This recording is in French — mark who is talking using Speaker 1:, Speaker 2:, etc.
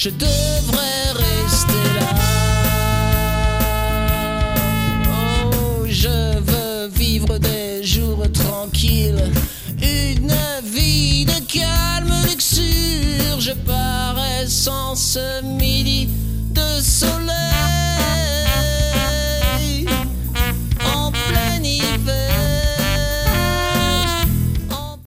Speaker 1: je devrais rester là. Oh, je veux vivre des jours tranquilles, une vie de calme luxure. Je parais sans ce midi